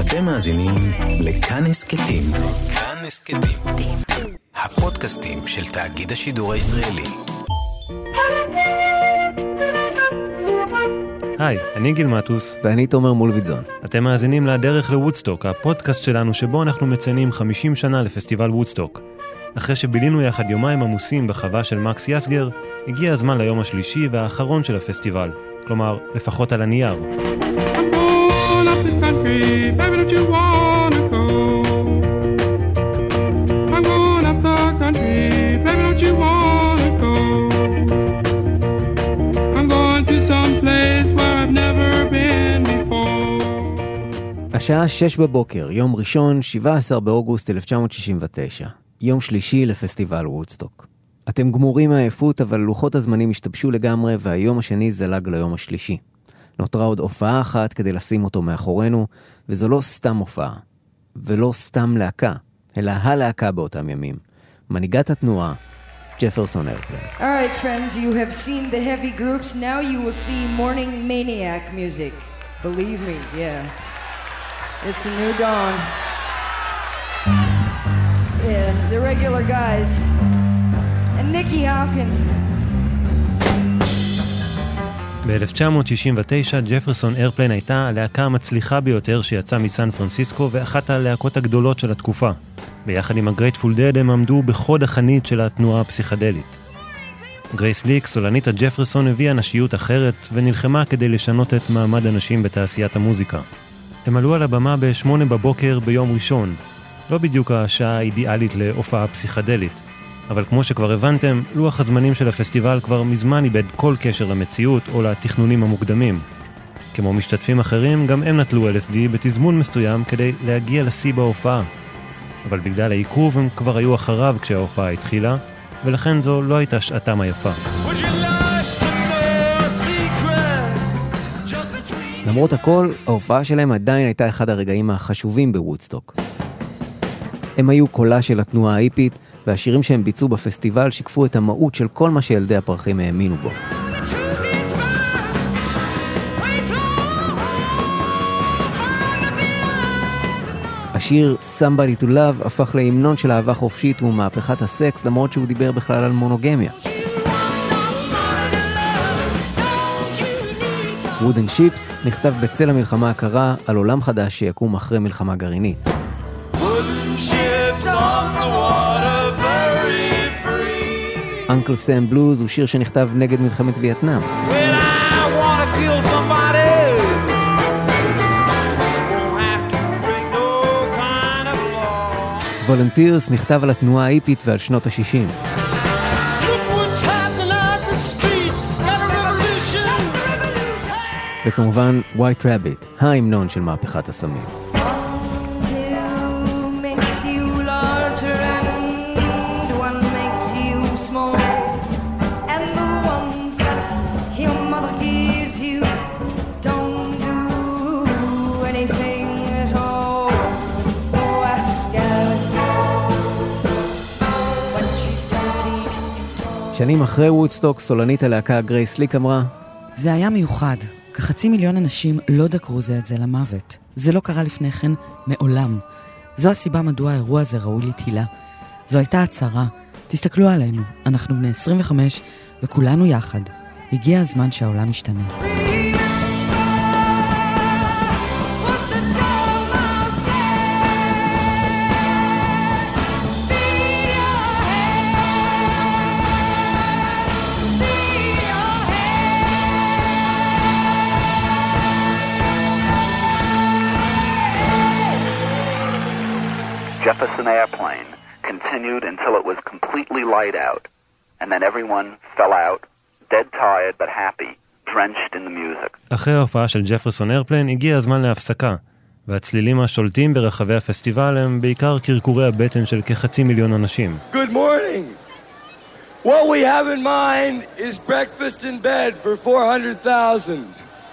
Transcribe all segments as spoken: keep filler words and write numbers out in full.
אתם מאזינים לכאן הסקטים. כאן הסקטים. הפודקאסטים של תאגיד השידור הישראלי. היי, אני גיל מטוס. ואני תומר מולביטזון. אתם מאזינים לדרך לוודסטוק, הפודקאסט שלנו שבו אנחנו מציינים חמישים שנה לפסטיבל וודסטוק. אחרי שבילינו יחד יומיים עמוסים בחווה של מקס יסגר, הגיע הזמן ליום השלישי והאחרון של הפסטיבל. כלומר, לפחות על הנייר. השעה שש בבוקר, יום ראשון, שבעה עשר באוגוסט אלף תשע מאות שישים ותשע. יום שלישי לפסטיבל וודסטוק. אתם גמורים מהעייפות, אבל לוחות הזמנים השתבשו לגמרי, והיום השני זלג ליום השלישי. נותרה עוד הופעה אחת כדי לשים אותו מאחורינו, וזו לא סתם הופעה, ולא סתם להקה, אלא הלהקה באותם ימים. מנהיגת התנועה, ג'פרסון איירפליין. All right, friends, you have seen the heavy groups. Now you will see morning maniac music. Believe me, yeah. It's a new dawn. Yeah, the regular guys. And Nicky Hopkins. ב-אלף תשע מאות שישים ותשע ג'פרסון איירפליין הייתה הלהקה המצליחה ביותר שיצאה מסן פרנסיסקו ואחת הלהקות הגדולות של התקופה. ביחד עם הגרייטפול דד הם עמדו בחוד החנית של התנועה הפסיכדלית. גרייס ליק, סולנית הג'פרסון, הביאה נשיות אחרת ונלחמה כדי לשנות את מעמד הנשים בתעשיית המוזיקה. הם עלו על הבמה בשמונה בבוקר ביום ראשון, לא בדיוק השעה האידיאלית להופעה פסיכדלית. אבל כמו שכבר הבנתם, לוח הזמנים של הפסטיבל כבר מזמן איבד כל קשר למציאות או לתכנונים המוקדמים. כמו משתתפים אחרים, גם הם נטלו אל אס די בתזמון מסוים כדי להגיע לשיא בהופעה. אבל בגלל העיכוב הם כבר היו אחריו כשההופעה התחילה, ולכן זו לא הייתה שעתם היפה. למרות הכל, ההופעה שלהם עדיין הייתה אחד הרגעים החשובים בוודסטוק. הם היו קולה של התנועה ההיפית, והשירים שהם ביצעו בפסטיבל שיקפו את המהות של כל מה שילדי הפרחים האמינו בו. השיר Somebody to Love הפך להמנון של אהבה חופשית ומהפכת הסקס, למרות שהוא דיבר בכלל על מונוגמיה. Wooden Ships נכתב בצל המלחמה הקרה על עולם חדש שיקום אחרי מלחמה גרעינית. Uncle Sam Blues הוא שיר שנכתב נגד מלחמת וייטנאם. Volunteers נכתב על התנועה ההיפית ועל שנות ה-שישים. וכמובן White Rabbit, ההמנון של מהפכת הסמים. שנים אחרי וודסטוק, סולנית הלהקה גרייס ליק אמרה, זה היה מיוחד. כחצי מיליון אנשים לא דקרו זה את זה למוות. זה לא קרה לפני כן מעולם. זו הסיבה מדוע האירוע הזה ראוי לתהילה. זו הייתה הצהרה. תסתכלו עלינו, אנחנו בני עשרים וחמש וכולנו יחד. הגיע הזמן שהעולם ישתנה. Jefferson Airplane continued until it was completely light out, and then everyone fell out, dead tired but happy, drenched in the music. אחרי ההופעה של ג'פרסון איירפליין הגיע הזמן להפסקה, והצלילים השולטים ברחבי הפסטיבל הם בעיקר קרקורי הבטן של כחצי מיליון אנשים. Good morning. What we have in mind is breakfast in bed for four hundred thousand.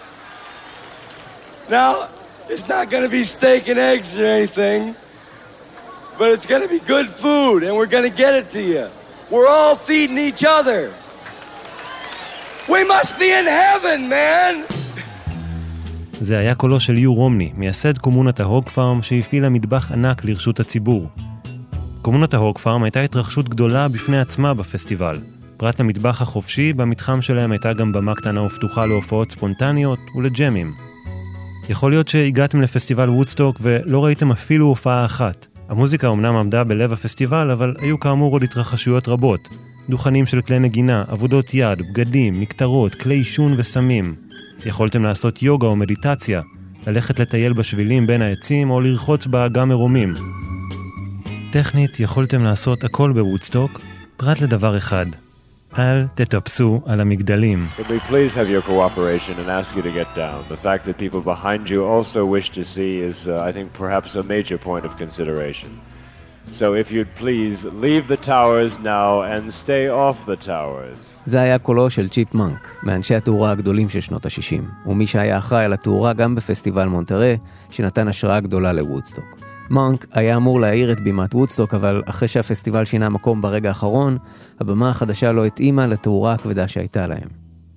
Now, it's not going to be steak and eggs or anything. But it's going to be good food, and we're going to get it to you. We're all feeding each other. We must be in heaven, man! זה היה קולו של יו רומני, מייסד קומונת ההוג פארם שהפעילה מטבח ענק לרשות הציבור. קומונת ההוג פארם הייתה התרחשות גדולה בפני עצמה בפסטיבל. פרט למטבח החופשי, במתחם שלהם הייתה גם במה קטנה ופתוחה להופעות ספונטניות ולג'מים. יכול להיות שהגעתם לפסטיבל וודסטוק ולא ראיתם אפילו הופעה אחת. המוזיקה אומנם עמדה בלב הפסטיבל, אבל היו כאמור עוד התרחשויות רבות. דוכנים של כלי נגינה, עבודות יד, בגדים, מקטרות, כלי עישון וסמים. יכולתם לעשות יוגה או מדיטציה, ללכת לטייל בשבילים בין העצים או לרחוץ באגם מרומים. טכנית יכולתם לעשות הכל בוודסטוק, פרט לדבר אחד. אל תטפסו על המגדלים. Could we please have your cooperation and ask you to get down? The fact that people behind you also wish to see is, uh, I think, perhaps a major point of consideration. So if you'd please leave the towers now and stay off the towers. זה היה קולו של צ'יפ מנק, מאנשי התאורה הגדולים של שנות ה-שישים, ומי שהיה אחראי על התאורה גם בפסטיבל מונטרה, שנתן השראה גדולה לוודסטוק. מנק היה אמור להעיר את בימת וודסטוק, אבל אחרי שהפסטיבל שינה מקום ברגע האחרון, הבמה החדשה לא התאימה לתאורה הכבדה שהייתה להם.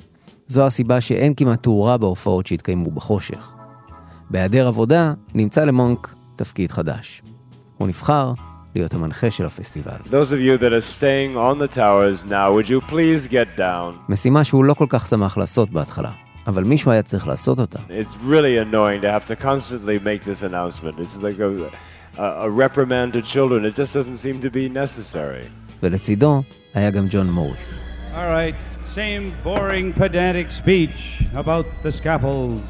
זו הסיבה שאין כמעט תאורה בהופעות שהתקיימו בחושך. בהיעדר עבודה נמצא למנק תפקיד חדש. הוא נבחר להיות המנחה של הפסטיבל. Those of you that are staying on the towers now, would you please get down? משימה שהוא לא כל כך שמח לעשות בהתחלה. אבל מישהו היה צריך לעשות אותה. It's really annoying to have to constantly make this announcement. It's like a, a, a reprimand to children. It just doesn't seem to be necessary. ולצידו היה גם ג'ון מוריס. All right, same boring pedantic speech about the scaffolds.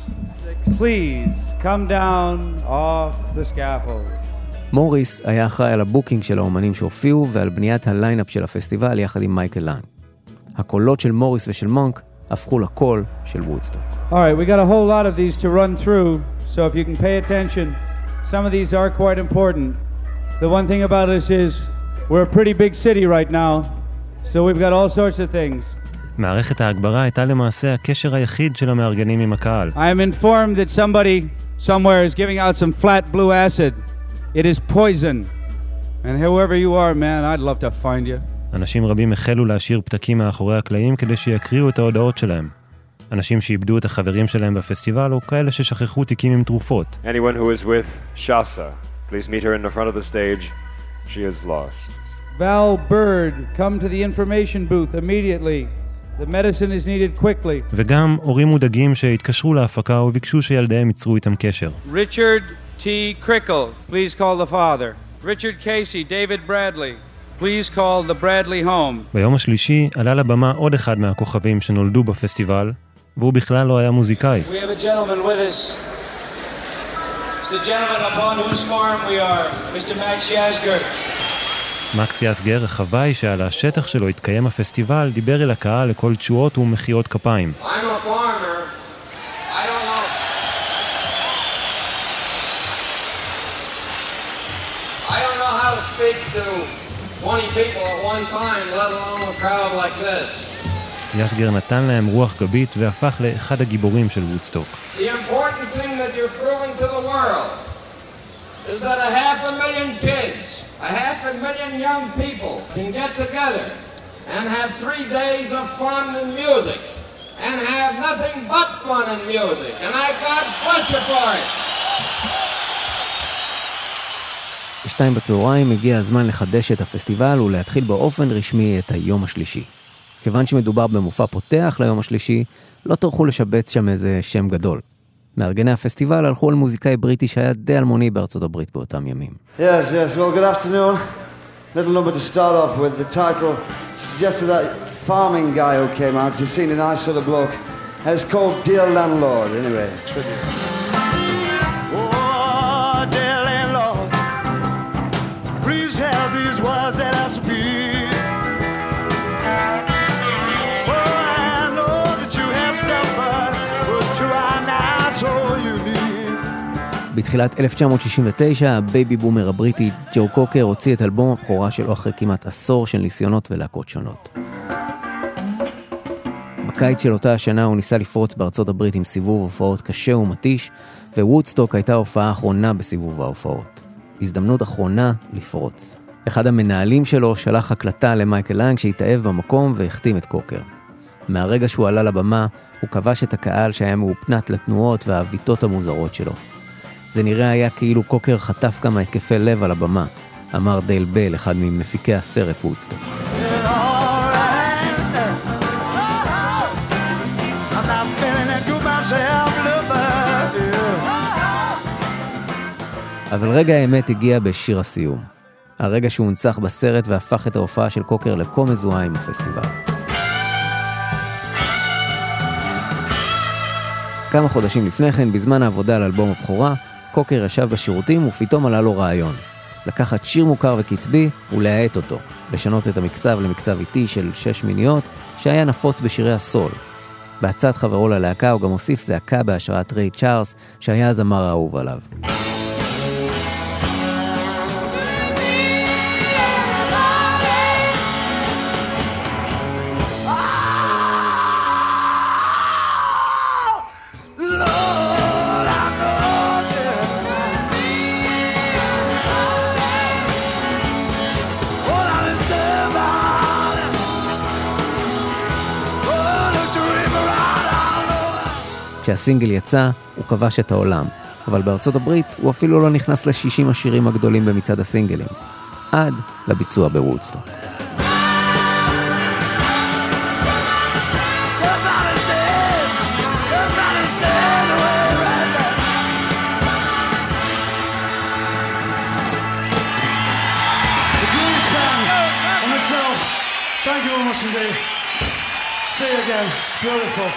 Please come down off the scaffolds. מוריס היה אחראי על הבוקינג של האומנים שהופיעו ועל בניית הליינאפ של הפסטיבל יחד עם מייקל לנג. הקולות של מוריס ושל מונק הפכו לקול של וודסטוק. All right, we got a whole lot of these to run through, so if you can pay attention, some of these are quite important. The one thing about us is we're a pretty big city right now, so we've got all sorts of things. מערכת ההגברה הייתה למעשה הקשר היחיד של המארגנים עם הקהל. I am informed that somebody somewhere is giving out some flat blue acid. It is poison. And whoever you are, man, I'd love to find you. אנשים רבים החלו להשאיר פתקים מאחורי הקלעים כדי שיקריאו את ההודעות שלהם. אנשים שאיבדו את החברים שלהם בפסטיבל או כאלה ששכחו תיקים עם תרופות. Anyone who is with Shasa, please meet her in the front of the stage. She is lost. Val Bird, come to the information booth immediately. The medicine is needed quickly. וגם הורים מודאגים שהתקשרו להפקה וביקשו שילדיהם ייצרו איתם קשר. Richard T. Crickle, please call the father. Richard Casey, David Bradley. Please call the Bradley home. ביום השלישי עלה לבמה עוד אחד מהכוכבים שנולדו בפסטיבל, והוא בכלל לא היה מוזיקאי. We have a gentleman with us. It's the gentleman upon whose farm we are, Mister Max Yasgur. מקס יסגר, החוואי שעל השטח שלו התקיים הפסטיבל, דיבר אל הקהל לכל תשואות ומחיאות כפיים. I'm a farmer. I don't know. I don't know how to speak to twenty people at one time, let alone a crowd like this. יסגר נתן להם רוח גבית והפך לאחד הגיבורים של וודסטוק. The important thing that you're proving to the world is that a half a million kids, a half a million young people can get together and have three days of fun and music and have nothing but fun and music. And I God bless you for it. בשתיים בצהריים הגיע הזמן לחדש את הפסטיבל ולהתחיל באופן רשמי את היום השלישי. כיוון שמדובר במופע פותח ליום השלישי, לא טרחו לשבץ שם איזה שם גדול. מארגני הפסטיבל הלכו על מוזיקאי בריטי שהיה די אלמוני בארצות הברית באותם ימים. Yes, yes, well, good afternoon. Little number to start off with. The title suggested that farming guy who came out. He's seen a nice sort of bloke. And it's called Dear Landlord, anyway. Tribute. Oh, dear landlord, please have these words that I speak. בתחילת אלף תשע מאות שישים ותשע, הבייבי בומר הבריטי ג'ו קוקר הוציא את אלבום הבכורה שלו אחרי כמעט עשור של ניסיונות ולהקות שונות. בקיץ של אותה השנה הוא ניסה לפרוץ בארצות הברית עם סיבוב הופעות קשה ומתיש, ווודסטוק הייתה ההופעה האחרונה בסיבוב ההופעות. הזדמנות אחרונה לפרוץ. אחד המנהלים שלו שלח הקלטה למייקל לנג שהתאהב במקום והחתים את קוקר. מהרגע שהוא עלה לבמה, הוא כבש את הקהל שהיה מאופנת לתנועות והאביתות המוזרות שלו. זה נראה היה כאילו קוקר חטף כמה התקפי לב על הבמה, אמר דייל בל, אחד ממפיקי הסרט וודסטוק. אבל רגע האמת הגיע בשיר הסיום. הרגע שהוא הונצח בסרט והפך את ההופעה של קוקר לכה מזוהה עם הפסטיבל. כמה חודשים לפני כן, בזמן העבודה על אלבום הבכורה, קוקר ישב בשירותים ופתאום עלה לו רעיון. לקחת שיר מוכר וקצבי ולהעט אותו, לשנות את המקצב למקצב איטי של שש מיניות שהיה נפוץ בשירי הסול. בהצעת חברו ללהקה הוא גם הוסיף זעקה בהשראת ריי צ'ארלס שהיה הזמר האהוב עליו. כשהסינגל יצא, הוא כבש את העולם, אבל בארצות הברית הוא אפילו לא נכנס ל-שישים השירים הגדולים במצעד הסינגלים, עד לביצוע בוודסטוק. Thank you very much indeed. See you again. Beautiful.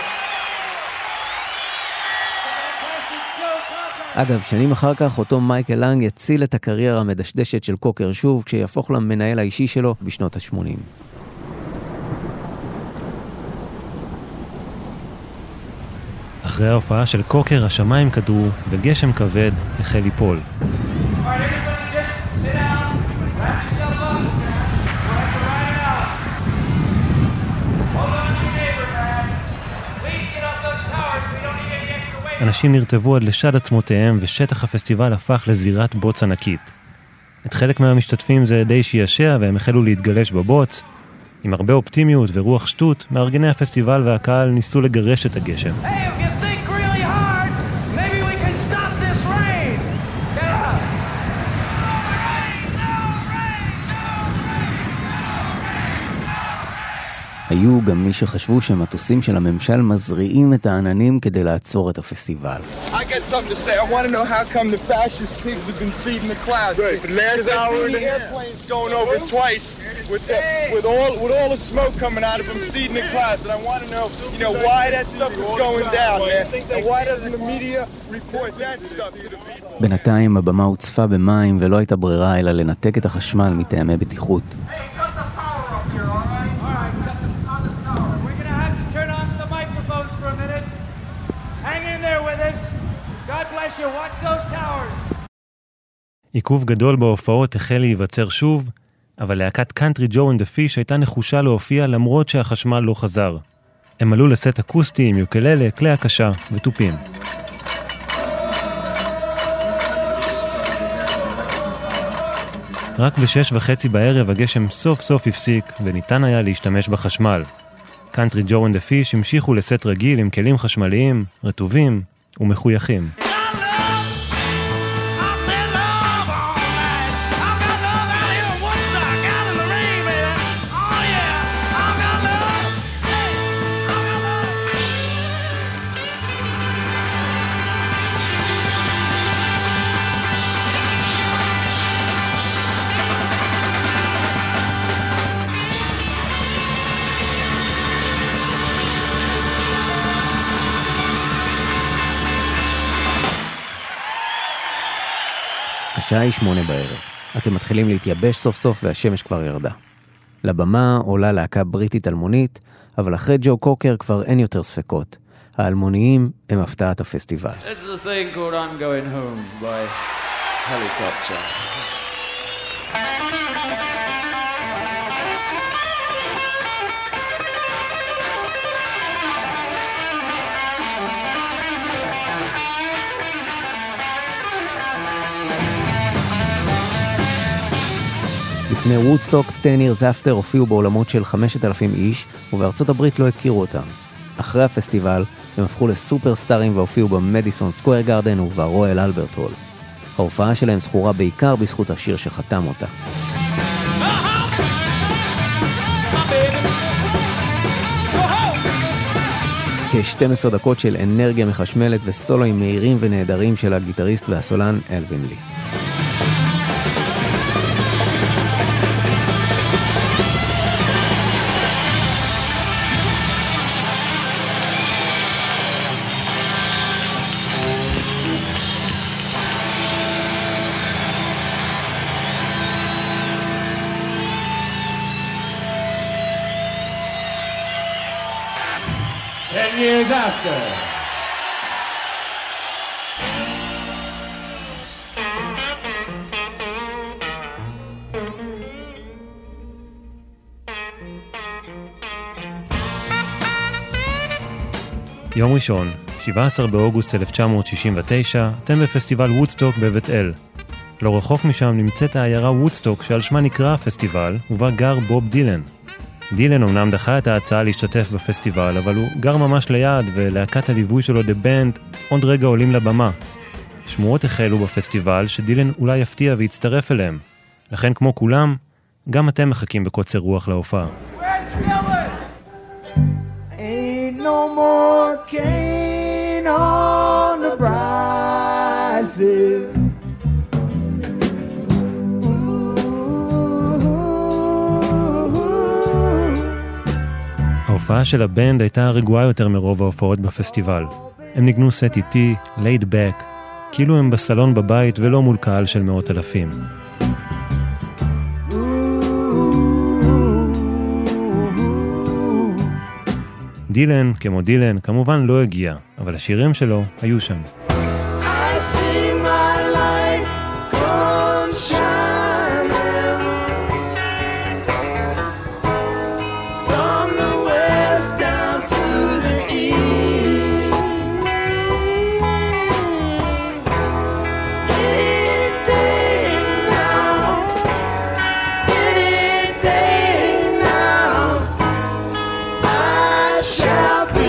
אגב, שנים אחר כך אותו מייקל לנג יציל את הקריירה המדשדשת של קוקר שוב כשיהפוך למנהל האישי שלו בשנות ה-שמונים. אחרי ההופעה של קוקר השמיים קדרו וגשם כבד החל ליפול. אנשים נרטבו עד לשד עצמותיהם ושטח הפסטיבל הפך לזירת בוץ ענקית. את חלק מהמשתתפים זה די שישע והם החלו להתגלש בבוץ. עם הרבה אופטימיות ורוח שטות, מארגני הפסטיבל והקהל ניסו לגרש את הגשם. היו גם מי שחשבו שמטוסים של הממשל מזריעים את העננים כדי לעצור את הפסטיבל. I got something to say. I want to know how come the fascist pigs have been seeding the clouds. For the last hour and the airplanes going over twice with the, with all with all the smoke coming out of them seeding the clouds. And I want to know, you know, why that stuff is going down, man. And why doesn't the media report that stuff to the people? בינתיים הבמה הוצפה במים ולא הייתה ברירה אלא לנתק את החשמל מטעמי בטיחות. עיכוב גדול בהופעות החל להיווצר שוב, אבל להקת קאנטרי ג'ו אנד דה פיש הייתה נחושה להופיע למרות שהחשמל לא חזר. הם עלו לסט אקוסטי עם יוקללה, כלי הקשה וטופים. רק בשש וחצי בערב הגשם סוף סוף הפסיק וניתן היה להשתמש בחשמל. קאנטרי ג'ו אנד דה פיש המשיכו לסט רגיל עם כלים חשמליים, רטובים ומחויכים. השעה היא שמונה בערב. אתם מתחילים להתייבש סוף סוף והשמש כבר ירדה. לבמה עולה להקה בריטית אלמונית, אבל אחרי ג'ו קוקר כבר אין יותר ספקות. האלמוניים הם הפתעת הפסטיבל. This is a thing called I'm Going Home by Helicopter. לפני וודסטוק, ten years after הופיעו בעולמות של חמשת אלפים איש, ובארצות הברית לא הכירו אותם. אחרי הפסטיבל, הם הפכו לסופרסטארים והופיעו במדיסון סקוואר גארדן וברויאל אלברט הול. ההופעה שלהם זכורה בעיקר בזכות השיר שחתם אותה. כ-שתים עשרה דקות של אנרגיה מחשמלת וסולואים מהירים ונהדרים של הגיטריסט והסולן אלווין לי. Ten years after. יום ראשון, שבעה עשר באוגוסט אלף תשע מאות שישים ותשע, אתם בפסטיבל וודסטוק בבית אל. לא רחוק משם נמצאת העיירה וודסטוק שעל שמה נקרא הפסטיבל, ובה גר בוב דילן. דילן אומנם דחה את ההצעה להשתתף בפסטיבל, אבל הוא גר ממש ליד, ולהקת הליווי שלו The Band עוד רגע עולים לבמה. שמועות החלו בפסטיבל שדילן אולי יפתיע ויצטרף אליהם. לכן כמו כולם, גם אתם מחכים בקוצר רוח להופעה. Ain't no more cane on the prices. ההופעה של הבנד הייתה רגועה יותר מרוב ההופעות בפסטיבל. הם ניגנו סט איטי, laid back, כאילו הם בסלון בבית ולא מול קהל של מאות אלפים. דילן, כמו דילן, כמובן לא הגיע, אבל השירים שלו היו שם. I see my light come shining from the west down to the east. Any day now, any day now, I shall be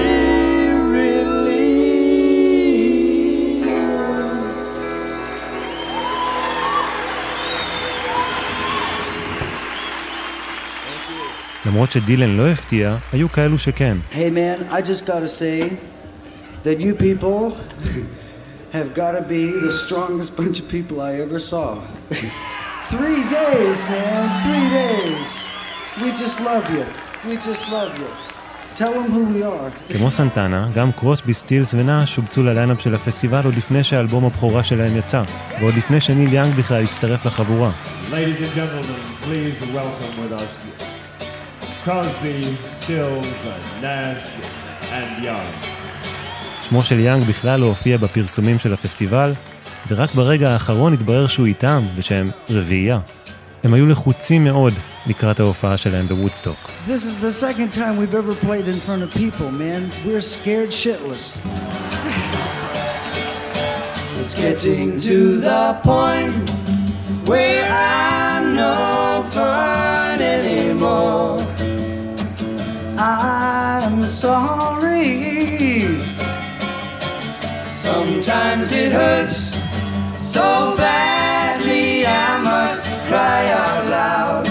למרות שדילן לא הפתיע, היו כאלו שכן. Hey man, I just gotta say that you people have gotta be the strongest bunch of people I ever saw. Three days, man, three days. We just love you. We just love you. Tell them who we are. כמו סנטנה, גם קרוסבי, סטילס ונאש שובצו לליינאפ של הפסטיבל עוד לפני שהאלבום הבכורה שלהם יצא, ועוד לפני שניל יאנג בכלל הצטרף לחבורה. Ladies and gentlemen, please welcome with us Crosby, Stills, Nash and Young. שמו של יאנג בכלל לא הופיע בפרסומים של הפסטיבל, ורק ברגע האחרון התברר שהוא איתם ושהם רביעייה. הם היו לחוצים מאוד לקראת ההופעה שלהם בוודסטוק. This is the second time we've ever played in front of people, man. We're scared shitless. It's getting to the point where I'm no fun anymore. I'm sorry. Sometimes it hurts so badly I must cry out loud.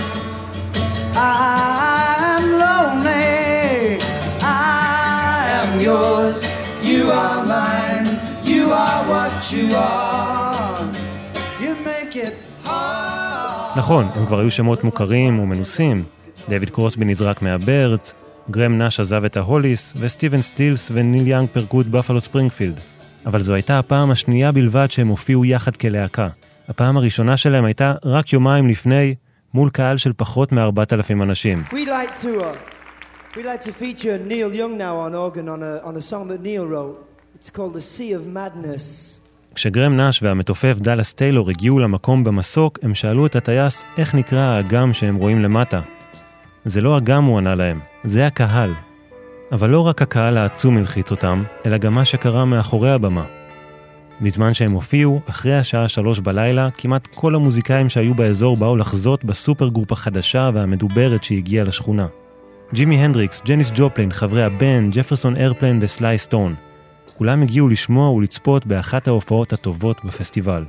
I'm lonely. I am yours. You are mine. You are what you are. You make it hard. נכון, הם כבר היו שמות מוכרים ומנוסים. דייוויד קרוסבי נזרק מהברץ, גרם נאש עזב את ההוליס, וסטיבן סטילס וניל יאנג פרקו את בפלו ספרינגפילד. אבל זו הייתה הפעם השנייה בלבד שהם הופיעו יחד כלהקה. הפעם הראשונה שלהם הייתה רק יומיים לפני, מול קהל של פחות מ-ארבעת אלפים אנשים. We'd like to, uh, we'd like to feature Neil Young now on organ on a, on a song that Neil wrote. It's called The Sea of Madness. כשגרם נאש והמתופף דאלאס טיילור הגיעו למקום במסוק, הם שאלו את הטייס איך נקרא האגם שהם רואים למטה. זה לא אגם, הוא ענה להם, זה הקהל. אבל לא רק הקהל העצום הלחיץ אותם, אלא גם מה שקרה מאחורי הבמה. בזמן שהם הופיעו, אחרי השעה שלוש בלילה, כמעט כל המוזיקאים שהיו באזור באו לחזות בסופר גרופ החדשה והמדוברת שהגיעה לשכונה. ג'ימי הנדריקס, ג'ניס ג'ופלין, חברי הבנד, ג'פרסון איירפליין וסליי סטון. כולם הגיעו לשמוע ולצפות באחת ההופעות הטובות בפסטיבל.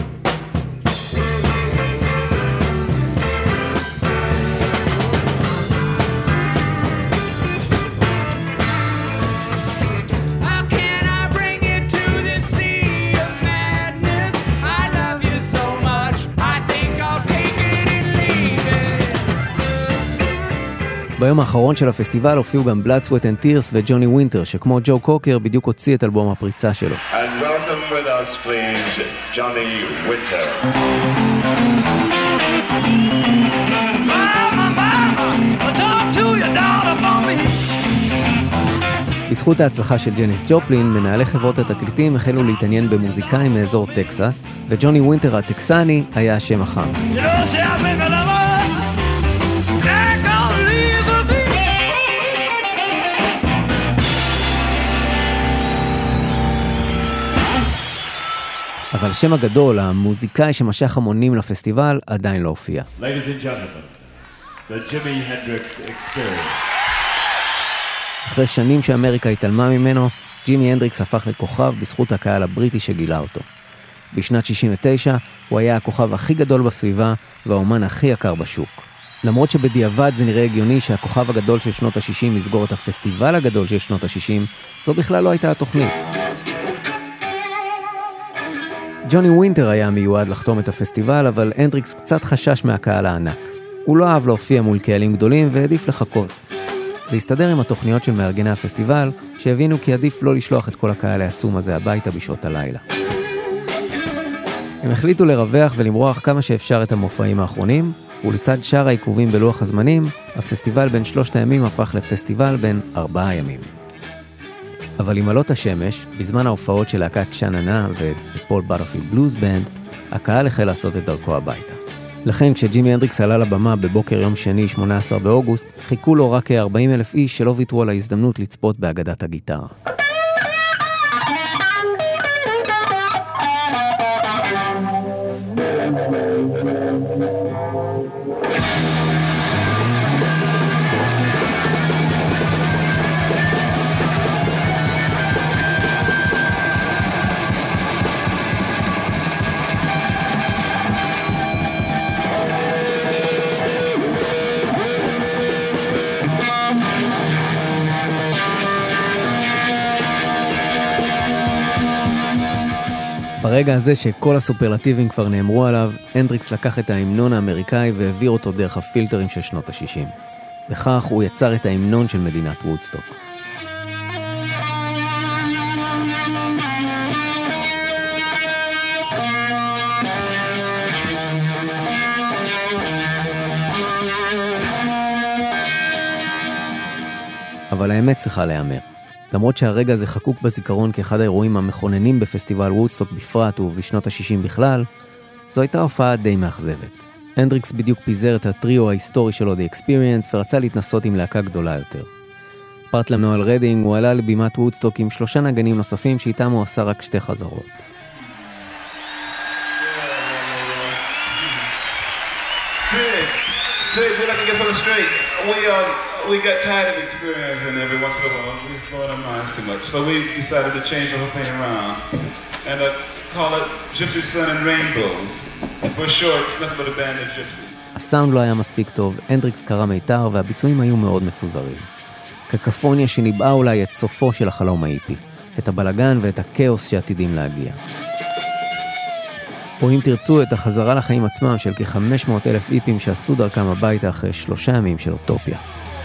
ביום האחרון של הפסטיבל הופיעו גם Blood, Sweat and Tears וג'וני ווינטר, שכמו ג'ו קוקר בדיוק הוציא את אלבום הפריצה שלו. And welcome with us, please, Johnny Winter. Mama, mama, talk to your daughter for me. בזכות ההצלחה של ג'ניס ג'ופלין, מנהלי חברות התקליטים החלו להתעניין במוזיקאים מאזור טקסס, וג'וני ווינטר הטקסני היה השם החם. You know, she has been for the world. אבל השם הגדול, המוזיקאי שמשך המונים לפסטיבל, עדיין לא הופיע. Ladies and gentlemen, the Jimi Hendrix Experience. אחרי שנים שאמריקה התעלמה ממנו, ג'ימי הנדריקס הפך לכוכב בזכות הקהל הבריטי שגילה אותו. בשנת שישים ותשע הוא היה הכוכב הכי גדול בסביבה והאומן הכי יקר בשוק. למרות שבדיעבד זה נראה הגיוני שהכוכב הגדול של שנות ה-שישים יסגור את הפסטיבל הגדול של שנות ה-שישים, זו בכלל לא הייתה התוכנית. ג'וני ווינטר היה מיועד לחתום את הפסטיבל, אבל הנדריקס קצת חשש מהקהל הענק. הוא לא אהב להופיע מול קהלים גדולים והעדיף לחכות. זה הסתדר עם התוכניות של מארגני הפסטיבל, שהבינו כי עדיף לא לשלוח את כל הקהל העצום הזה הביתה בשעות הלילה. הם החליטו לרווח ולמרוח כמה שאפשר את המופעים האחרונים, ולצד שאר העיכובים בלוח הזמנים, הפסטיבל בין שלושת הימים הפך לפסטיבל בין ארבעה ימים. אבל עם עלות השמש, בזמן ההופעות של להקת שננה ופול בטרפילד בלוז בנד, הקהל החל לעשות את דרכו הביתה. לכן כשג'ימי הנדריקס עלה לבמה בבוקר יום שני שמונה עשר באוגוסט, חיכו לו רק כ-ארבעים אלף איש שלא ויתרו על ההזדמנות לצפות באגדת הגיטרה. ברגע הזה שכל הסופרלטיבים כבר נאמרו עליו, הנדריקס לקח את ההמנון האמריקאי והעביר אותו דרך הפילטרים של שנות ה-שישים. בכך הוא יצר את ההמנון של מדינת וודסטוק. אבל האמת צריכה להיאמר. למרות שהרגע הזה חקוק בזיכרון כאחד האירועים המכוננים בפסטיבל וודסטוק בפרט ובשנות ה-שישים בכלל, זו הייתה הופעה די מאכזבת. הנדריקס בדיוק פיזר את הטריו ההיסטורי שלו, The Experience, ורצה להתנסות עם להקה גדולה יותר. פרט לנואל רדינג, הוא עלה לבימת וודסטוק עם שלושה נגנים נוספים שאיתם הוא עשה רק שתי חזרות. Dig, dig, we'd like to get something straight. We, um, we got tired of experiencing every once in a while. We was blowing our minds too much. So we decided to change the whole thing around and uh, call it Gypsy Sun and Rainbows. For short, it's nothing but a band of gypsies. הסאונד לא היה מספיק טוב, הנדריקס קרא מיתר והביצועים היו מאוד מפוזרים. קקפוניה שניבאה אולי את סופו של החלום האיפי, את הבלגן ואת הכאוס שעתידים להגיע. או אם תרצו את החזרה לחיים עצמם של כ-חמש מאות אלף איפים שעשו דרכם הביתה אחרי שלושה ימים של אוטופיה.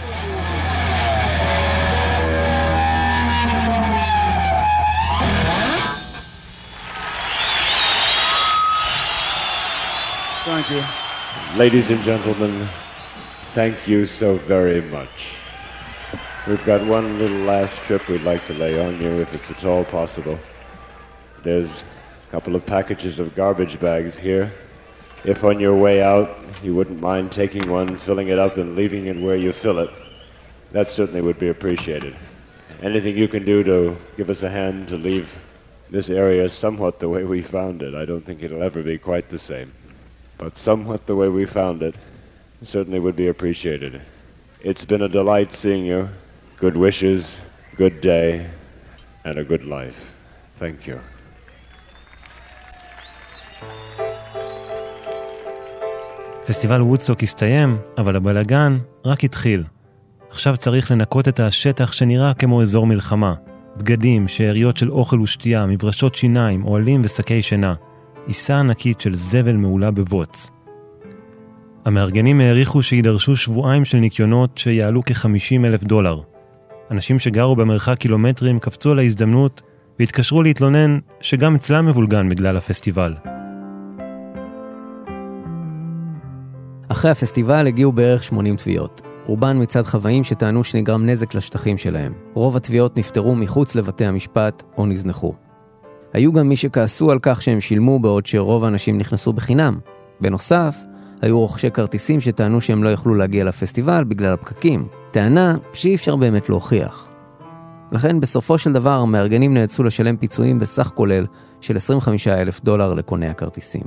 Thank you. Ladies and gentlemen, thank you so very much. We've got one little last trip we'd like to lay on you, if it's at all possible. There's a couple of packages of garbage bags here. If on your way out you wouldn't mind taking one, filling it up and leaving it where you fill it, that certainly would be appreciated. Anything you can do to give us a hand to leave this area is somewhat the way we found it. I don't think it'll ever be quite the same, but somewhat the way we found it certainly would be appreciated. It's been a delight seeing you. Good wishes, good day, and a good life. Thank you. פסטיבל וודסטוק הסתיים, אבל הבלגן רק התחיל. עכשיו צריך לנקות את השטח שנראה כמו אזור מלחמה. בגדים, שאריות של אוכל ושתייה, מברשות שיניים, אוהלים ושקי שינה. עיסה ענקית של זבל מעולה בבוץ. המארגנים העריכו שידרשו שבועיים של ניקיונות שיעלו כ-חמישים אלף דולר. אנשים שגרו במרחק קילומטרים קפצו על ההזדמנות והתקשרו להתלונן שגם אצלם מבולגן בגלל הפסטיבל. אחרי הפסטיבל הגיעו בערך שמונים תביעות. רובן מצד חוואים שטענו שנגרם נזק לשטחים שלהם. רוב התביעות נפטרו מחוץ לבתי המשפט או נזנחו. היו גם מי שכעסו על כך שהם שילמו בעוד שרוב האנשים נכנסו בחינם. בנוסף, היו רוכשי כרטיסים שטענו שהם לא יכלו להגיע לפסטיבל בגלל הפקקים. טענה שאי אפשר באמת להוכיח. לכן בסופו של דבר המארגנים נאלצו לשלם פיצויים בסך כולל של עשרים וחמישה אלף דולר לקוני הכרטיסים.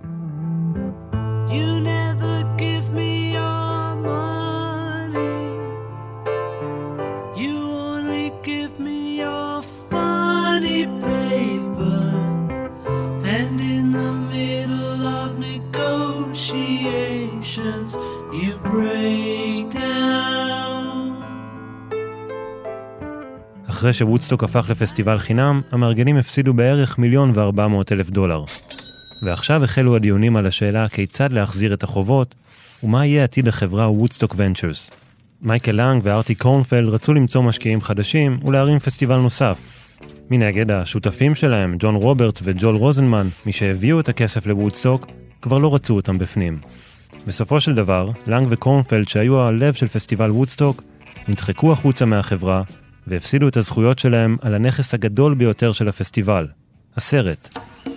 You break down. אחרי שוודסטוק הפך לפסטיבל חינם, המארגנים הפסידו בערך מיליון וארבע מאות אלף דולר. ועכשיו החלו הדיונים על השאלה כיצד להחזיר את החובות, ומה יהיה עתיד החברה וודסטוק ונצ'רס. מייקל לנג וארטי קורנפלד רצו למצוא משקיעים חדשים ולהרים פסטיבל נוסף. מנגד, השותפים שלהם, ג'ון רוברט וג'ול רוזנמן, מי שהביאו את הכסף לוודסטוק, כבר לא רצו אותם בפנים. בסופו של דבר, לנג וקורנפלד שהיו הלב של פסטיבל וודסטוק, נדחקו החוצה מהחברה והפסידו את הזכויות שלהם על הנכס הגדול ביותר של הפסטיבל, הסרט.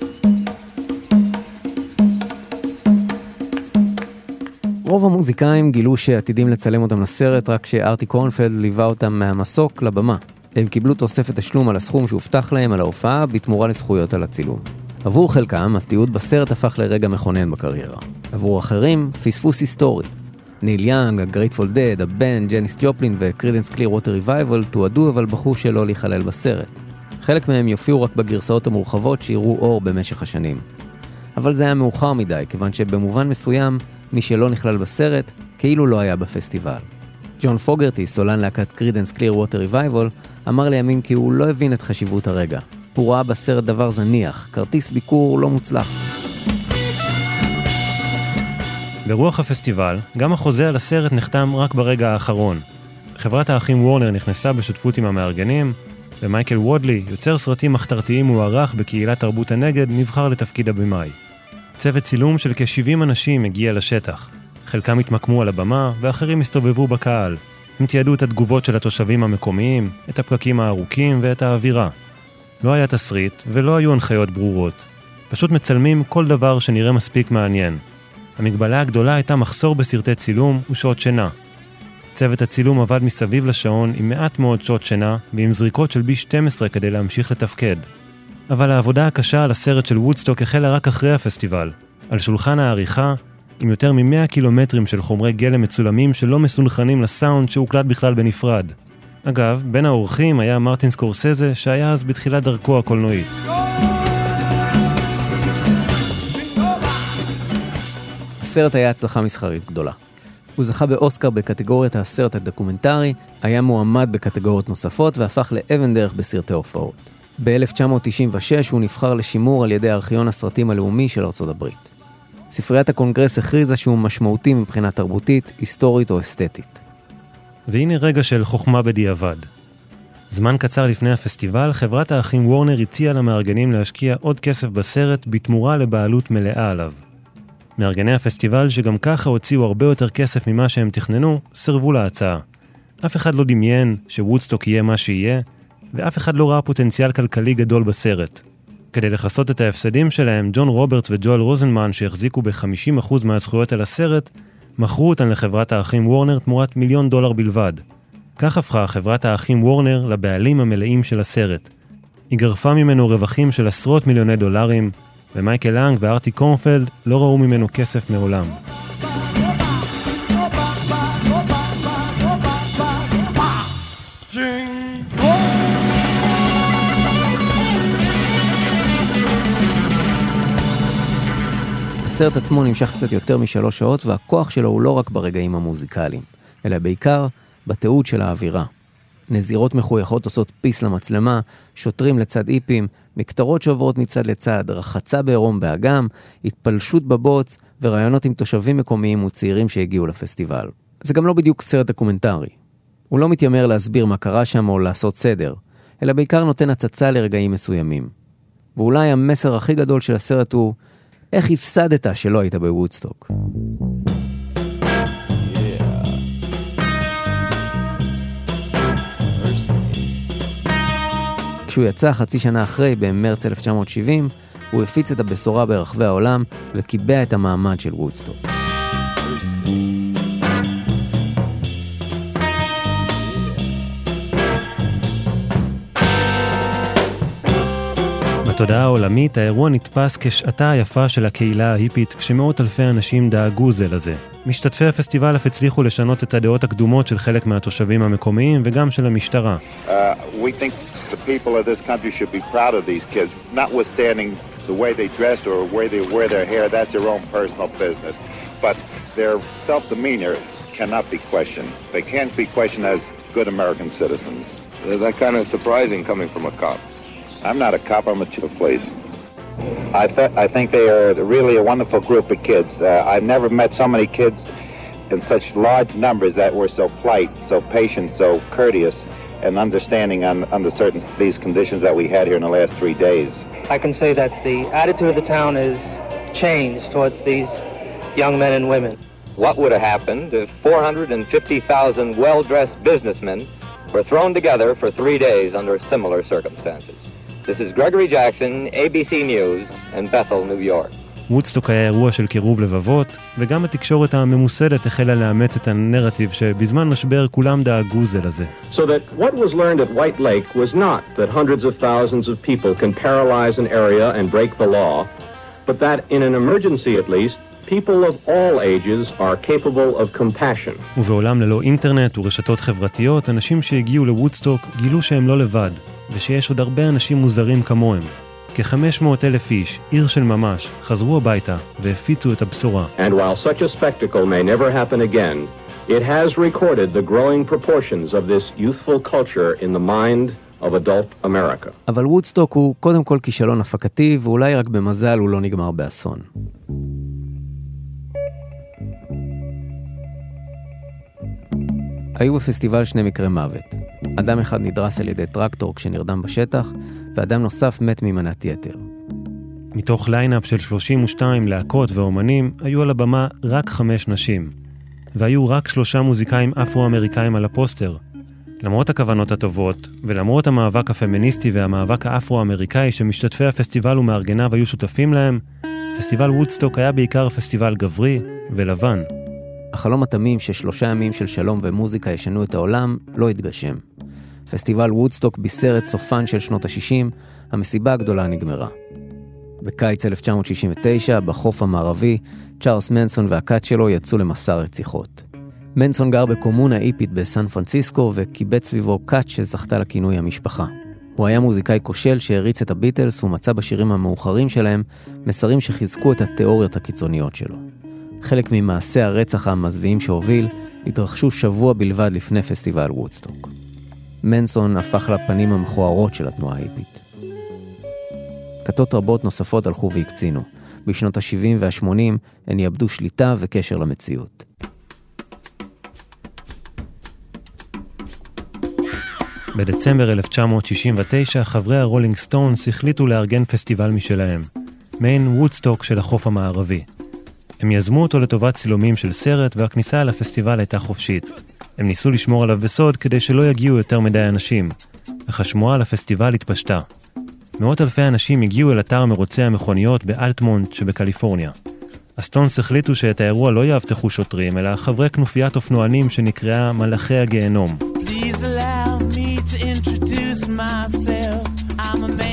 רוב המוזיקאים גילו שעתידים לצלם אותם לסרט רק שארטי קורנפלד ליווה אותם מהמסוק לבמה. הם קיבלו תוספת תשלום על הסכום שהובטח להם על ההופעה בתמורה לזכויות על הצילום. עבור חלקם, התיעוד בסרט הפך לרגע מכונן בקריירה. עבור אחרים, פספוס היסטורי. ניל יאנג, הגרייטפול דד, הבן, ג'ניס ג'ופלין וקרידנס קליר ווטר ריווייבל תועדו אבל בחרו שלא להיכלל בסרט. חלק מהם יופיעו רק בגרסאות המורחבות שיראו אור במשך השנים. אבל זה היה מאוחר מדי, כיוון שבמובן מסוים, מי שלא נכלל בסרט, כאילו לא היה בפסטיבל. ג'ון פוגרטי, סולן להקת קרידנס קליר ווטר ריווייבל, אמר לימים כי הוא לא הבין את חשיבות הרגע. הוא ראה בסרט דבר זניח, כרטיס ביקור לא מוצלח. ברוח הפסטיבל, גם החוזה על הסרט נחתם רק ברגע האחרון. חברת האחים וורנר נכנסה בשותפות עם המארגנים, ומייקל וודלי, יוצר סרטים מחתרתיים מוערך בקהילת תרבות הנגד, נבחר לתפקיד הבמאי. צוות צילום של כ-שבעים אנשים הגיע לשטח. חלקם התמקמו על הבמה, ואחרים הסתובבו בקהל. הם תיעדו את התגובות של התושבים המקומיים, את הפקקים הארוכים ואת האווירה. לא היה תסריט ולא היו הנחיות ברורות. פשוט מצלמים כל דבר שנראה מספיק מעניין. המגבלה הגדולה הייתה מחסור בסרטי צילום ושעות שינה. צוות הצילום עבד מסביב לשעון עם מעט מאוד שעות שינה ועם זריקות של בי שתים עשרה כדי להמשיך לתפקד. אבל העבודה הקשה על הסרט של וודסטוק החלה רק אחרי הפסטיבל. על שולחן העריכה, עם יותר מ-מאה קילומטרים של חומרי גלם מצולמים שלא מסונכרנים לסאונד שהוקלט בכלל בנפרד. אגב, בין האורחים היה מרטין סקורסזה שהיה אז בתחילת דרכו הקולנועית. הסרט היה הצלחה מסחרית גדולה. הוא זכה באוסקר בקטגוריית הסרט הדוקומנטרי, היה מועמד בקטגוריות נוספות והפך לאבן דרך בסרטי הופעות. ב-אלף תשע מאות תשעים ושש הוא נבחר לשימור על ידי ארכיון הסרטים הלאומי של ארצות הברית. ספריית הקונגרס הכריזה שהוא משמעותי מבחינה תרבותית, היסטורית או אסתטית. והנה רגע של חוכמה בדיעבד. זמן קצר לפני הפסטיבל, חברת האחים וורנר הציעה למארגנים להשקיע עוד כסף בסרט בתמורה לבעלות מלאה עליו. מארגני הפסטיבל, שגם ככה הוציאו הרבה יותר כסף ממה שהם תכננו, סרבו להצעה. אף אחד לא דמיין שוודסטוק יהיה מה שיהיה, ואף אחד לא ראה פוטנציאל כלכלי גדול בסרט. כדי לחסות את ההפסדים שלהם, ג'ון רוברט וג'ואל רוזנמן, שהחזיקו ב-חמישים אחוז מהזכויות על הסרט, מכרו אותן לחברת האחים וורנר תמורת מיליון דולר בלבד. כך הפכה חברת האחים וורנר לבעלים המלאים של הסרט. היא גרפה ממנו רווחים של עשרות מיליוני דולרים, ומייקל לנג וארטי קורנפלד לא ראו ממנו כסף מעולם. הסרט עצמו נמשך קצת יותר משלוש שעות, והכוח שלו הוא לא רק ברגעים המוזיקליים, אלא בעיקר בתיעוד של האווירה. נזירות מחויכות עושות פיס למצלמה, שוטרים לצד איפים, מקטרות שעוברות מצד לצד, רחצה בעירום באגם, התפלשות בבוץ ורעיונות עם תושבים מקומיים וצעירים שהגיעו לפסטיבל. זה גם לא בדיוק סרט דוקומנטרי. הוא לא מתיימר להסביר מה קרה שם או לעשות סדר, אלא בעיקר נותן הצצה לרגעים מסוימים. ואולי המסר הכי גדול של הסרט הוא איך הפסדת שלא היית בוודסטוק. כשהוא יצא חצי שנה אחרי, במרץ אלף תשע מאות שבעים, הוא הפיץ את הבשורה ברחבי העולם וקיבע את המעמד של וודסטוק. בתודעה העולמית, האירוע נתפס כשעתה היפה של הקהילה ההיפית, כשמאות אלפי אנשים דאגו זה לזה. משתתפי הפסטיבל אף הצליחו לשנות את הדעות הקדומות של חלק מהתושבים המקומיים וגם של המשטרה. Uh, we think the people of this country should be proud of these kids, notwithstanding the way they dress or where they wear their hair. That's their own personal business. But their self-demeanor cannot be questioned. They can't be questioned as good American citizens. That's kind of surprising coming from a cop. I'm not a cop, I'm a chief of police. I, th- I think they are really a wonderful group of kids. Uh, I've never met so many kids in such large numbers that were so polite, so patient, so courteous, and understanding on, under certain these conditions that we had here in the last three days. I can say that the attitude of the town is changed towards these young men and women. What would have happened if four hundred fifty thousand well-dressed businessmen were thrown together for three days under similar circumstances? This is Gregory Jackson, A B C News, in Bethel, New York. וודסטוק היה אירוע של קירוב לבבות, וגם התקשורת הממוסדת החלה לאמץ את הנרטיב שבזמן משבר כולם דאגו זה לזה. So that what was learned at White Lake was not that hundreds of thousands of people can paralyze an area and break the law, but that in an emergency at least, people of all ages are capable of compassion. ובעולם ללא אינטרנט ורשתות חברתיות, אנשים שהגיעו לוודסטוק גילו שהם לא לבד, ושיש עוד הרבה אנשים מוזרים כמוהם. כ-חמש מאות אלף איש, עיר של ממש, חזרו הביתה והפיצו את הבשורה. And while such a spectacle may never happen again, it has recorded the growing proportions of this youthful culture in the mind of adult America. אבל וודסטוק הוא קודם כל כישלון הפקתי, ואולי רק במזל הוא לא נגמר באסון. היו בפסטיבל שני מקרי מוות. אדם אחד נדרס על ידי טרקטור כשנרדם בשטח, ואדם נוסף מת ממנת יתר. מתוך ליינאפ של שלושים ושתיים להקות ואומנים, היו על הבמה רק חמש נשים. והיו רק שלושה מוזיקאים אפרו-אמריקאים על הפוסטר. למרות הכוונות הטובות, ולמרות המאבק הפמיניסטי והמאבק האפרו-אמריקאי שמשתתפי הפסטיבל ומארגניו היו שותפים להם, פסטיבל וודסטוק היה בעיקר פסטיבל גברי ולבן. החלום התמים ששלושה ימים של שלום ומוזיקה ישנו את העולם לא התגשם. פסטיבל וודסטוק בישר את סופן של שנות ה-שישים, המסיבה הגדולה נגמרה. בקיץ אלף תשע מאות שישים ותשע, בחוף המערבי, צ'ארלס מנסון והכת שלו יצאו למסע רציחות. מנסון גר בקומונה איפית בסן פרנסיסקו וקיבץ סביבו כת שזכתה לכינוי המשפחה. הוא היה מוזיקאי כושל שהריץ את הביטלס ומצא בשירים המאוחרים שלהם מסרים שחיזקו את התיאוריות הקיצוניות שלו. חלק ממעשי הרצח המזוויעים שהוביל התרחשו שבוע בלבד לפני פסטיבל וודסטוק. מנסון הפך לפנים המכוערות של התנועה ההיפית. כתות רבות נוספות הלכו והקצינו. בשנות ה-שבעים וה-שמונים הן יאבדו שליטה וקשר למציאות. בדצמבר אלף תשע מאות שישים ותשע חברי הרולינג סטונס החליטו לארגן פסטיבל משלהם, מעין וודסטוק של החוף המערבי. הם יזמו אותו לטובת צילומים של סרט, והכניסה לפסטיבל הייתה חופשית. הם ניסו לשמור עליו בסוד כדי שלא יגיעו יותר מדי אנשים, אך השמועה על הפסטיבל התפשטה. מאות אלפי אנשים הגיעו אל אתר מרוצי המכוניות באלטמונט שבקליפורניה. הסטונס החליטו שאת האירוע לא יאבטחו שוטרים, אלא חברי כנופיית אופנוענים שנקראה מלאכי הגיהנום. Please allow me to introduce myself. I'm a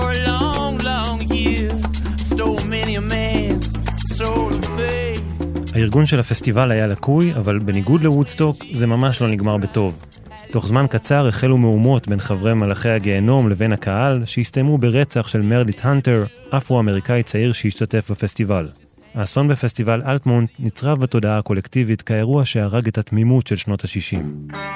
for a long, long year. Stole many a man's soul of faith. הארגון של הפסטיבל היה לקוי, אבל בניגוד לוודסטוק זה ממש לא נגמר בטוב. תוך זמן קצר החלו מהומות בין חברי מלאכי הגיהנום לבין הקהל, שהסתיימו ברצח של מרדיט הנטר, אפרו-אמריקאי צעיר שהשתתף בפסטיבל. האסון בפסטיבל אלטמונט נצרב בתודעה הקולקטיבית כאירוע שהרג את התמימות של שנות ה-שישים.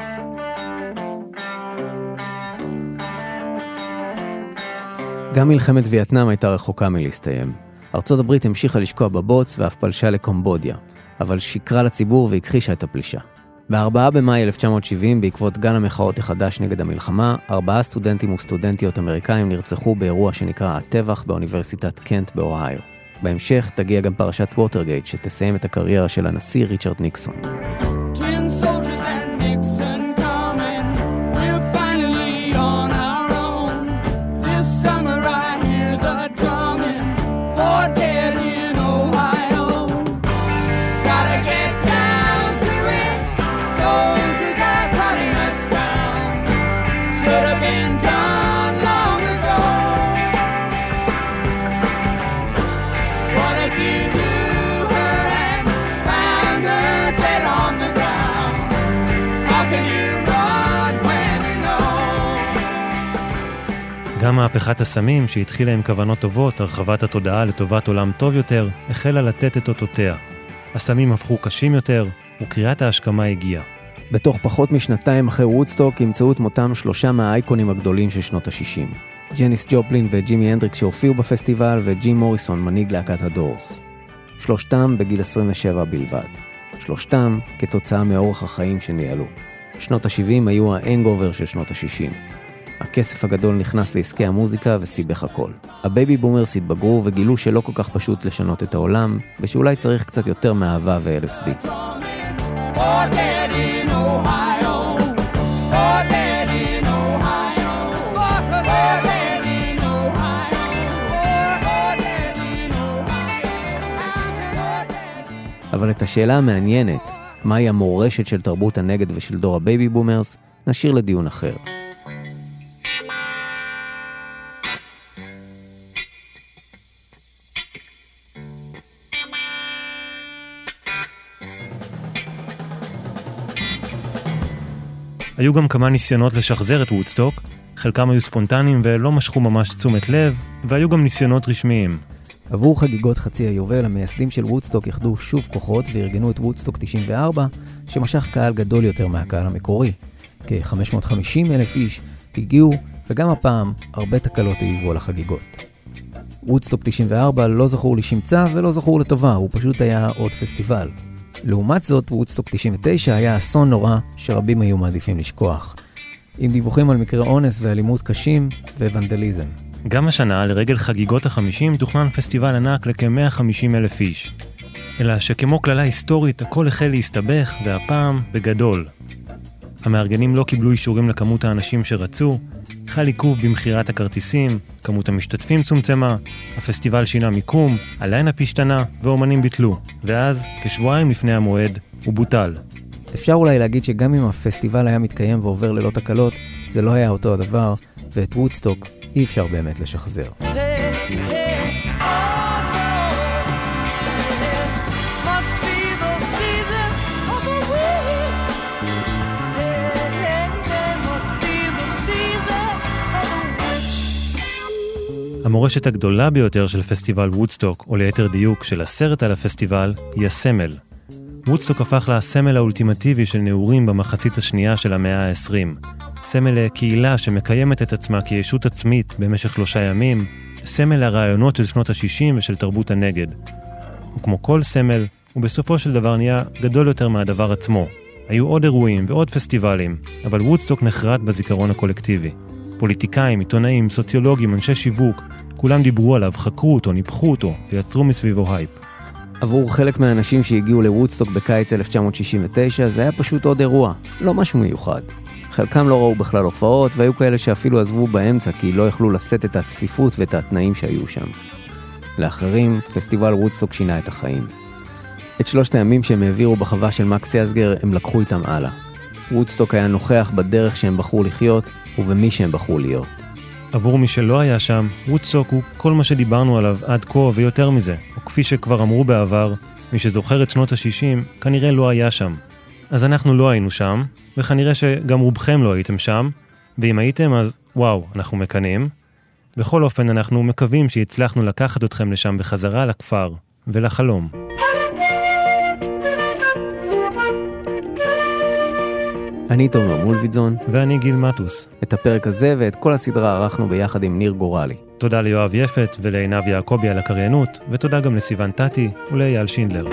גם מלחמת וייטנאם הייתה רחוקה מלהסתיים. ארצות הברית המשיכה לשקוע בבוץ ואף פלשה לקומבודיה, אבל שיקרה לציבור והכחישה את הפלישה. ב-ארבעה במאי אלף תשע מאות שבעים, בעקבות גל המחאות החדש נגד המלחמה, ארבעה סטודנטים וסטודנטיות אמריקאים נרצחו באירוע שנקרא הטבח באוניברסיטת קנט באוהיו. בהמשך תגיע גם פרשת ווטרגייט, שתסיים את הקריירה של הנשיא ריצ'רד ניקסון. גם מהפכת הסמים שהתחילה עם כוונות טובות, הרחבת התודעה לטובת עולם טוב יותר, החלה לתת את אותותיה. הסמים הפכו קשים יותר, וקריאת ההשכמה הגיעה. בתוך פחות משנתיים אחרי וודסטוק ימצאו את מותם שלושה מהאייקונים הגדולים של שנות ה-שישים. ג'ניס ג'ופלין וג'ימי הנדריקס שהופיעו בפסטיבל, וג'ים מוריסון, מנהיג להקת הדורס. שלושתם בגיל עשרים ושבע בלבד. שלושתם כתוצאה מאורח החיים שניהלו. שנות ה-שבעים היו האנגובר של שנות ה-שישים. הכסף הגדול נכנס לעסקי המוזיקה וסיבך הכל. הבייבי בומרס התבגרו וגילו שלא כל כך פשוט לשנות את העולם, ושאולי צריך קצת יותר מאהבה ו-אל אס די. אבל את השאלה המעניינת, מהי המורשת של תרבות הנגד ושל דור הבייבי בומרס, נשאיר לדיון אחר. היו גם כמה ניסיונות לשחזר את וודסטוק, חלקם היו ספונטניים ולא משכו ממש תשומת לב, והיו גם ניסיונות רשמיים. עבור חגיגות חצי היובל, המייסדים של וודסטוק יחדו שוב כוחות וארגנו את וודסטוק תשעים וארבע, שמשך קהל גדול יותר מהקהל המקורי. כ-חמש מאות וחמישים אלף איש הגיעו, וגם הפעם הרבה תקלות העיבו על החגיגות. וודסטוק תשעים וארבע לא זכור לשמצה ולא זכור לטובה, הוא פשוט היה עוד פסטיבל. לעומת זאת, וודסטוק תשעים ותשע היה אסון נורא שרבים היו מעדיפים לשכוח, עם דיווחים על מקרי אונס ואלימות קשים וונדליזם. גם השנה, לרגל חגיגות החמישים, תוכנן פסטיבל ענק לכ-מאה וחמישים אלף איש. אלא שכמו כללה היסטורית, הכל החל להסתבך, והפעם בגדול. המארגנים לא קיבלו אישורים לכמות האנשים שרצו, חל עיכוב במחירת הכרטיסים, כמות המשתתפים צומצמה, הפסטיבל שינה מיקום, הליינאפ השתנה ואומנים ביטלו, ואז, כשבועיים לפני המועד, הוא בוטל. אפשר אולי להגיד שגם אם הפסטיבל היה מתקיים ועובר ללא תקלות, זה לא היה אותו הדבר, ואת וודסטוק אי אפשר באמת לשחזר. המורשת הגדולה ביותר של פסטיבל וודסטוק, או ליתר דיוק של הסרט על הפסטיבל, היא הסמל. וודסטוק הפך לסמל האולטימטיבי של נעורים במחצית השנייה של המאה ה-עשרים. סמל לקהילה שמקיימת את עצמה כישות עצמית במשך שלושה ימים, סמל לרעיונות של שנות ה-שישים ושל תרבות הנגד. וכמו כל סמל, הוא בסופו של דבר נהיה גדול יותר מהדבר עצמו. היו עוד אירועים ועוד פסטיבלים, אבל וודסטוק נחרט בזיכרון הקולקטיבי. פוליטיקאים, עיתונאים, סוציולוגים, אנשי שיווק, כולם דיברו עליו, חקרו אותו, ניפחו אותו ויצרו מסביבו הייפ. עבור חלק מהאנשים שהגיעו לוודסטוק בקיץ אלף תשע מאות שישים ותשע זה היה פשוט עוד אירוע, לא משהו מיוחד. חלקם לא ראו בכלל הופעות והיו כאלה שאפילו עזבו באמצע כי לא יכלו לשאת את הצפיפות ואת התנאים שהיו שם. לאחרים, פסטיבל וודסטוק שינה את החיים. את שלושת הימים שהם העבירו בחווה של מקס יסגר הם לקחו איתם הלאה. וודסטוק היה נוכח בדרך שהם בחרו לחיות ובמי שהם בחרו להיות. עבור מי שלא היה שם, וודסטוק הוא כל מה שדיברנו עליו עד כה ויותר מזה, או כפי שכבר אמרו בעבר, מי שזוכר את שנות ה-שישים כנראה לא היה שם. אז אנחנו לא היינו שם, וכנראה שגם רובכם לא הייתם שם, ואם הייתם אז וואו, אנחנו מקנים. בכל אופן אנחנו מקווים שהצלחנו לקחת אתכם לשם בחזרה לכפר ולחלום. אני תומר מולביטזון. ואני גיל מטוס. את הפרק הזה ואת כל הסדרה ערכנו ביחד עם ניר גורלי. תודה ליואב יפת ולעינב יעקבי על הקריינות, ותודה גם לסיוון טטי ולאייל שינדלר.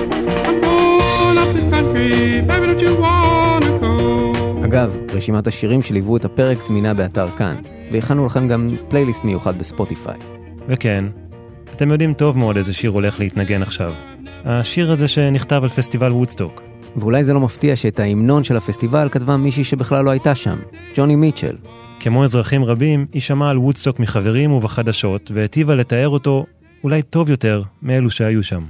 אגב, רשימת השירים שליוו את הפרק זמינה באתר כאן, והכנו לכם גם פלייליסט מיוחד בספוטיפיי. וכן, אתם יודעים טוב מאוד איזה שיר הולך להתנגן עכשיו. השיר הזה שנכתב על פסטיבל וודסטוק. ואולי זה לא מפתיע שאת ההמנון של הפסטיבל כתבה מישהי שבכלל לא הייתה שם, ג'וני מיטשל. כמו אזרחים רבים, היא שמעה על וודסטוק מחברים ובחדשות, והטיבה לתאר אותו אולי טוב יותר מאלו שהיו שם.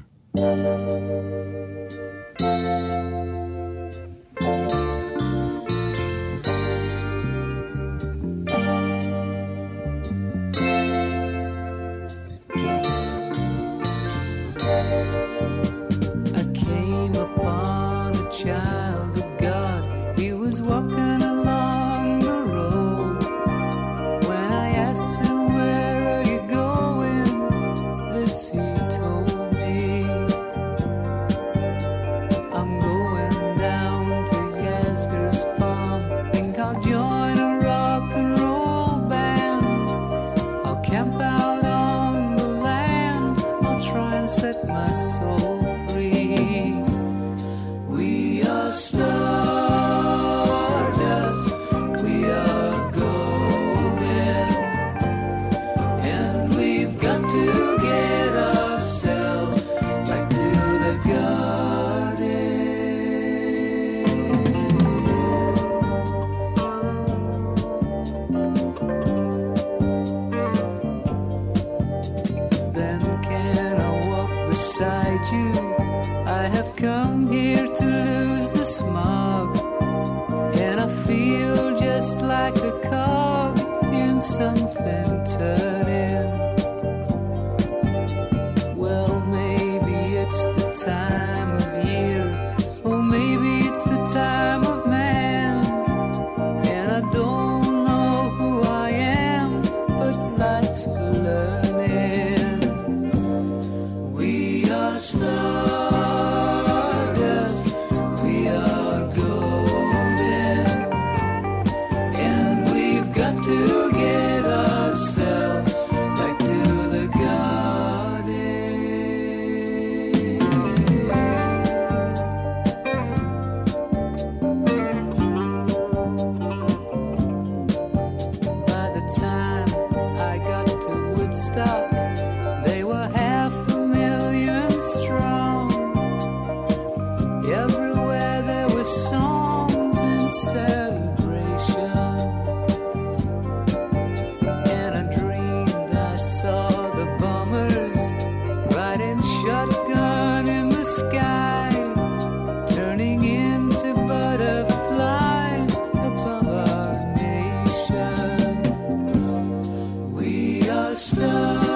Stars.